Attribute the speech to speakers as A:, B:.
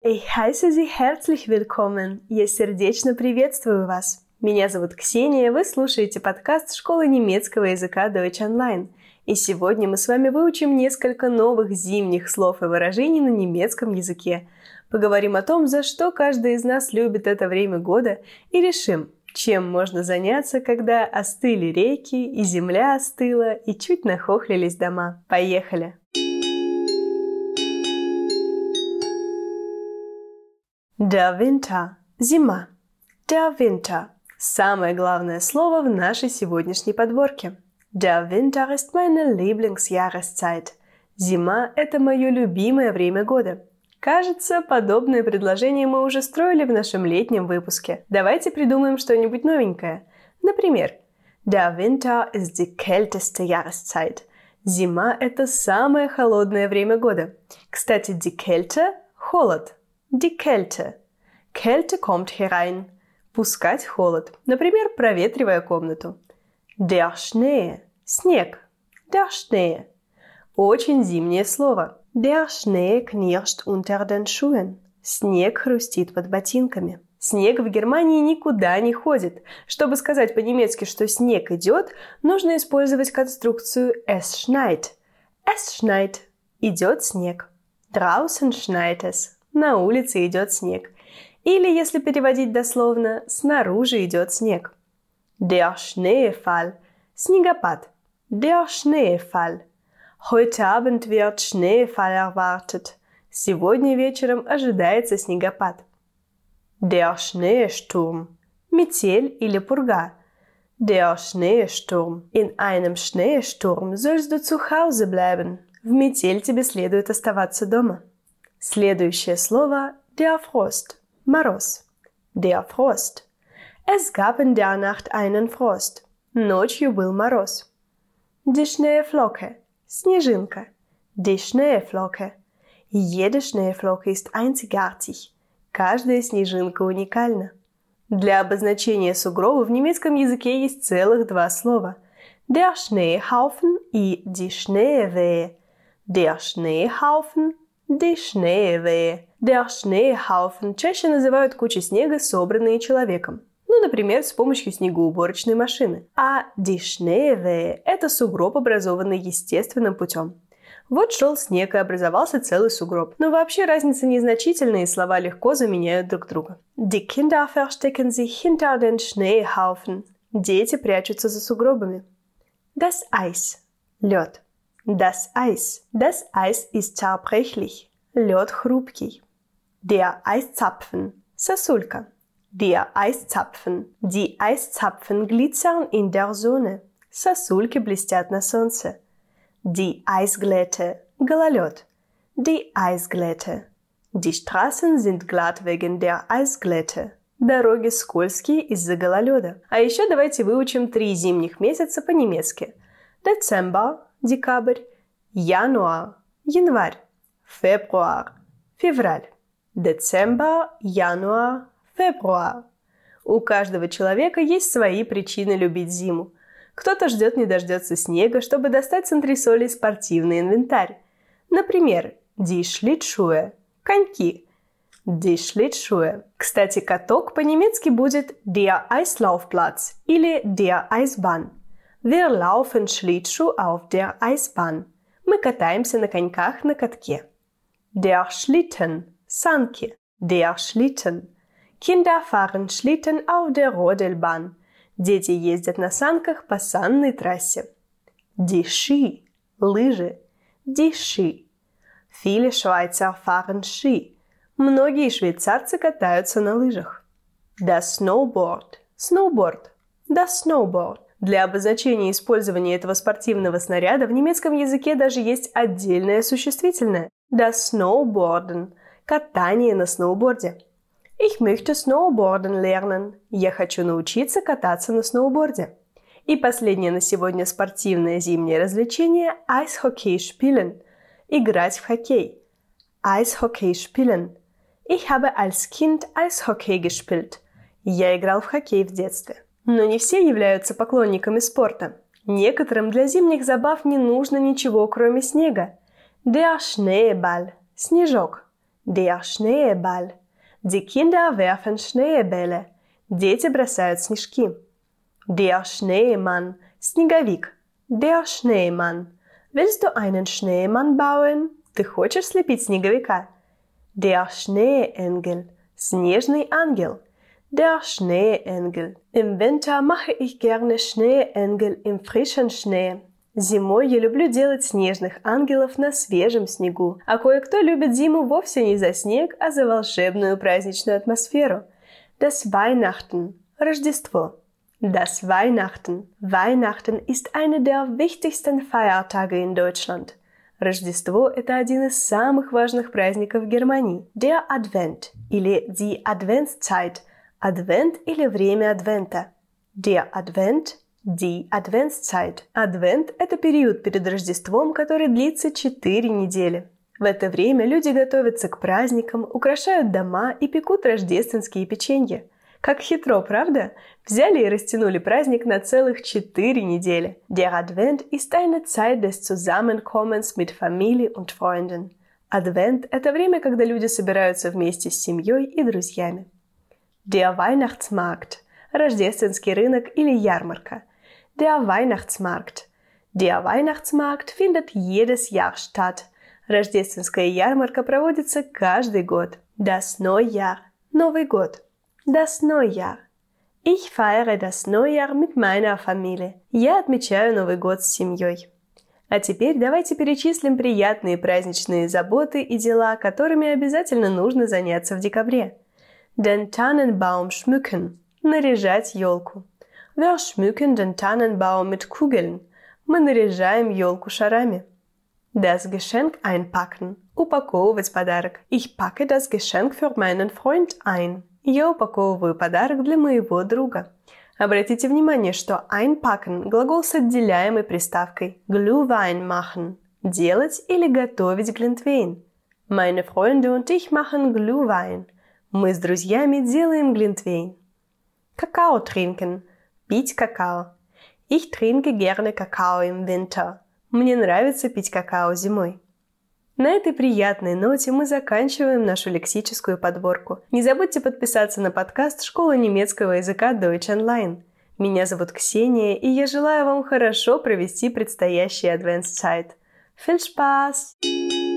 A: Ich heiße Sie herzlich willkommen. Я сердечно приветствую вас. Меня зовут Ксения, вы слушаете подкаст школы немецкого языка Deutsch Online. И сегодня мы с вами выучим несколько новых зимних слов и выражений на немецком языке. Поговорим о том, за что каждый из нас любит это время года, и решим, чем можно заняться, когда остыли реки, и земля остыла, и чуть нахохлились дома. Поехали! Der Winter – зима. Der Winter – самое главное слово в нашей сегодняшней подборке. Der Winter ist meine Lieblingsjahreszeit. Зима – это мое любимое время года. Кажется, подобное предложение мы уже строили в нашем летнем выпуске. Давайте придумаем что-нибудь новенькое. Например, Der Winter ist die kälteste Jahreszeit. Зима – это самое холодное время года. Кстати, die Kälte – холод. Die Kälte. Kälte kommt herein. Пускать холод. Например, проветривая комнату. Der Schnee. Снег. Der Schnee. Очень зимнее слово. Der Schnee knirscht unter den Schuhen. Снег хрустит под ботинками. Снег в Германии никуда не ходит. Чтобы сказать по-немецки, что снег идет, нужно использовать конструкцию es schneit. Es schneit. Идет снег. Draußen schneit es. На улице идет снег. Или, если переводить дословно, снаружи идет снег. Der Schneefall. Снегопад. Der Schneefall. Heute Abend wird Schneefall erwartet. Сегодня вечером ожидается снегопад. Der Schneesturm. Метель или пурга. Der Schneesturm. In einem Schneesturm sollst du zu Hause bleiben. В метель тебе следует оставаться дома. Следующее слово der Frost. Мороз. Der Frost. Es gab in der Nacht einen Frost. Ночью был мороз. Die Schneeflocke. Снежинка. Die Schneeflocke. Jede Schneeflocke ist einzigartig. Каждая снежинка уникальна. Для обозначения сугроба в немецком языке есть целых два слова. Der Schneehaufen и die Schneewehe. Der Schneehaufen Die Schneewehe. Der Schneehaufen чаще называют кучи снега, собранные человеком. Ну, например, с помощью снегоуборочной машины. А die Schneewehe – это сугроб, образованный естественным путем. Вот шел снег и образовался целый сугроб. Но вообще разница незначительная, и слова легко заменяют друг друга. Die Kinder verstecken sich hinter den Schneehaufen. Дети прячутся за сугробами. Das Eis. Лед. Das Eis. Das Eis ist zerbrechlich. Лед хрупкий. Der Eiszapfen. Сосулька. Der Eiszapfen. Die Eiszapfen glitzern in der Sonne. Сосульки блестят на солнце. Die Eisglätte. Гололед. Die Eisglätte. Die Straßen sind glatt wegen der Eisglätte. Дороги скользкие из-за гололеда. А еще давайте выучим 3 зимних месяца по-немецки. Dezember. Декабрь, январь, январь, февруар, февраль. Децембр, январь, февруар. У каждого человека есть свои причины любить зиму. Кто-то ждет не дождется снега, чтобы достать с антресолей спортивный инвентарь. Например, die Schlittschuhe – коньки. Die Schlittschuhe. Кстати, каток по-немецки будет der Eislaufplatz или der Eisbahn. Wir laufen Schlittschuh auf der Eisbahn. Мы катаемся на коньках на катке. Der Schlitten – санки. Der Schlitten. Kinder fahren Schlitten auf der Rodelbahn. Дети ездят на санках по санной трассе. Die Ski – лыжи. Die Ski. Viele Schweizer fahren Ski. Многие швейцарцы катаются на лыжах. Das Snowboard – snowboard. Das Snowboard. Для обозначения использования этого спортивного снаряда в немецком языке даже есть отдельное существительное. Das Snowboarden – катание на сноуборде. Ich möchte Snowboarden lernen. Я хочу научиться кататься на сноуборде. И последнее на сегодня спортивное зимнее развлечение – Eishockey spielen – играть в хоккей. Eishockey spielen. Ich habe als Kind Eishockey gespielt. Я играл в хоккей в детстве. Но не все являются поклонниками спорта. Некоторым для зимних забав не нужно ничего, кроме снега. Der Schneeball – снежок. Der Schneeball. Die Kinder werfen Schneebälle. Дети бросают снежки. Der Schneemann. Снеговик. Der Schneemann. Willst du einen Schneemann bauen? Ты хочешь слепить снеговика? Der Schneeengel. Снежный ангел. Der Schneeengel. Im Winter mache ich gerne Schneeengel im frischen Schnee. Зимой я люблю делать снежных ангелов на свежем снегу, а кое-кто любит зиму вовсе не за снег, а за волшебную праздничную атмосферу. Das Weihnachten – Рождество. Das Weihnachten. Weihnachten ist einer der wichtigsten Feiertage in Deutschland. Рождество – это один из самых важных праздников в Германии. Der Advent или die Adventszeit. Advent или время Адвента. Der Advent – Die Adventszeit. Адвент – это период перед Рождеством, который длится 4 недели. В это время люди готовятся к праздникам, украшают дома и пекут рождественские печенья. Как хитро, правда? Взяли и растянули праздник на целых 4 недели. Der Advent ist eine Zeit des Zusammenkommens mit Familie und Freunden. Адвент – это время, когда люди собираются вместе с семьей и друзьями. Der Weihnachtsmarkt – рождественский рынок или ярмарка. Der Weihnachtsmarkt. Der Weihnachtsmarkt findet jedes Jahr statt. Рождественская ярмарка проводится каждый год. Das Neujahr. Новый год. Das Neujahr. Ich feiere das Neujahr mit meiner Familie. Я отмечаю Новый год с семьей. А теперь давайте перечислим приятные праздничные заботы и дела, которыми обязательно нужно заняться в декабре. Den Tannenbaum schmücken. Наряжать елку. Wir schmücken den Tannenbaum mit Kugeln. Мы наряжаем елку шарами. Das Geschenk einpacken. Упаковывать подарок. Ich packe das Geschenk für meinen Freund ein. Я упаковываю подарок для моего друга. Обратите внимание, что einpacken – глагол с отделяемой приставкой. Glühwein machen. Делать или готовить глинтвейн. Meine Freunde und ich machen Glühwein. Мы с друзьями делаем глинтвейн. Kakao trinken. Пить какао. Ich trinke gerne Kakao im Winter. Мне нравится пить какао зимой. На этой приятной ноте мы заканчиваем нашу лексическую подборку. Не забудьте подписаться на подкаст Школы немецкого языка Deutsch Online. Меня зовут Ксения, и я желаю вам хорошо провести предстоящий Adventszeit. Viel Spaß!